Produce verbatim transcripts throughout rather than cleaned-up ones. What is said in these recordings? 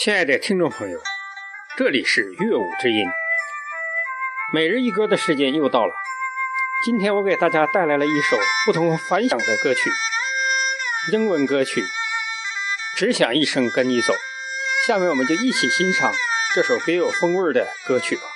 亲爱的听众朋友，这里是乐舞之音，每日一歌的时间又到了。今天我给大家带来了一首不同凡响的歌曲，英文歌曲《只想一生跟你走》。下面我们就一起欣赏这首别有风味的歌曲吧。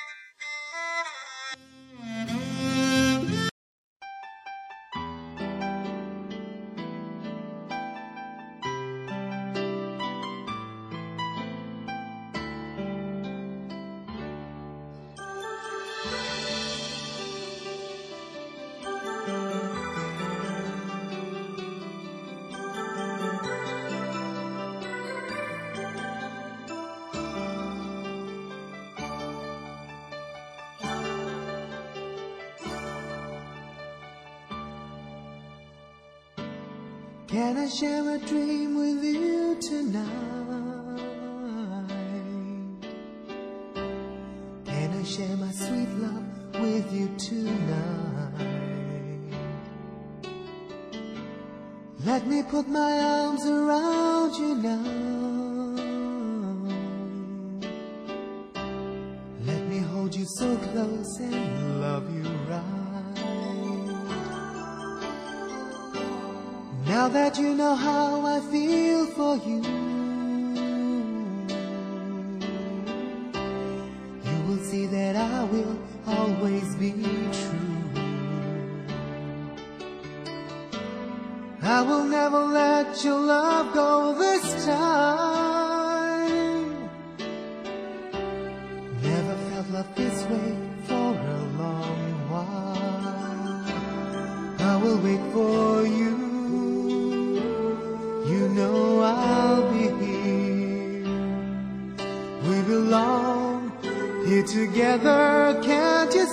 Can I share a dream with you tonight? Can I share my sweet love with you tonight? Let me put my arms around you now. Let me hold you so close and love you right. Now that you know how I feel for you, you will see that I will always be true. I will never let your love go this time. Never felt love this way for a long while. I will wait for you. You know I'll be here. We belong here together, can't you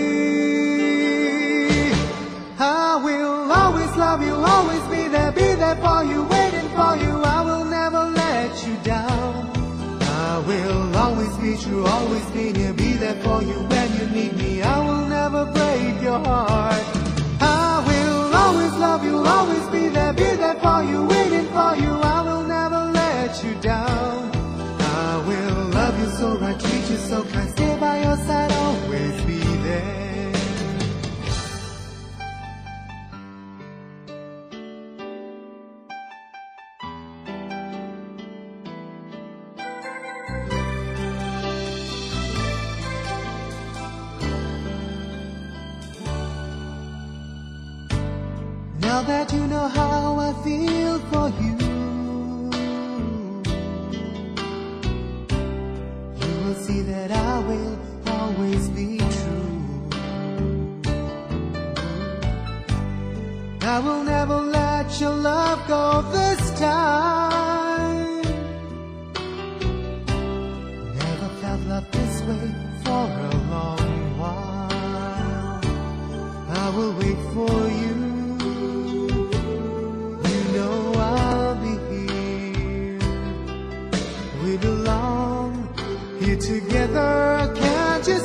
see? I will always love you, always be there, be there for you, waiting for you. I will never let you down. I will always be true, always be near, be there for you when you need me. I will never break your heart. I will always love you, always be there, be there for you, waiting for you. I will never let you down. I will love you so right, treat you so kind, stay by your side, always be there. Now that you know how I feel for you, you will see that I will always be true. I will never let your love go this time. Never felt love this way for a long while. I will wait for you. We belong here together, can't you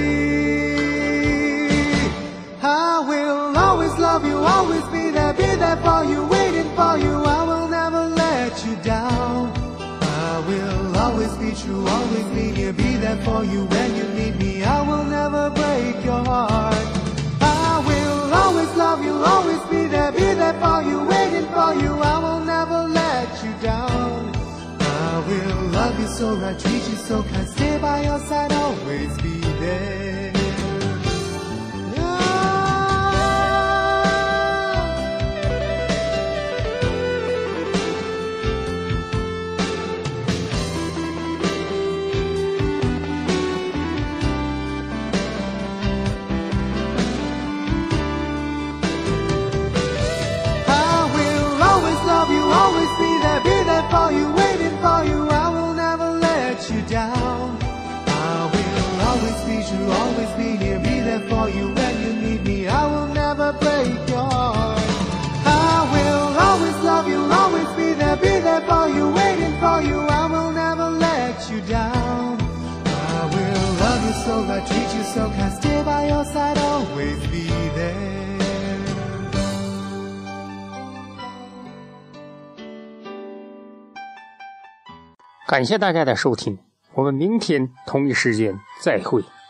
see? I will always love you, always be there, be there for you, waiting for you. I will never let you down. I will always be true, always be near, be there for you when you need me. I will never break your heart. I will always love you, always be there, be there for you, waiting for you. I will never let you down. I will love you so right, treat you so kind, stay by your side, always be there. I will always love you, always be there, be there for you, waiting for you. I will never let you down. I will always be true, always be here, be there for you when you need me. I will never break your heart. I will always love you, always be there, be there for you, waiting for you. I will never let you down. I will love you so right, treat you so kind, stay by your side, always be there. 感谢大家的收听，我们明天同一时间再会。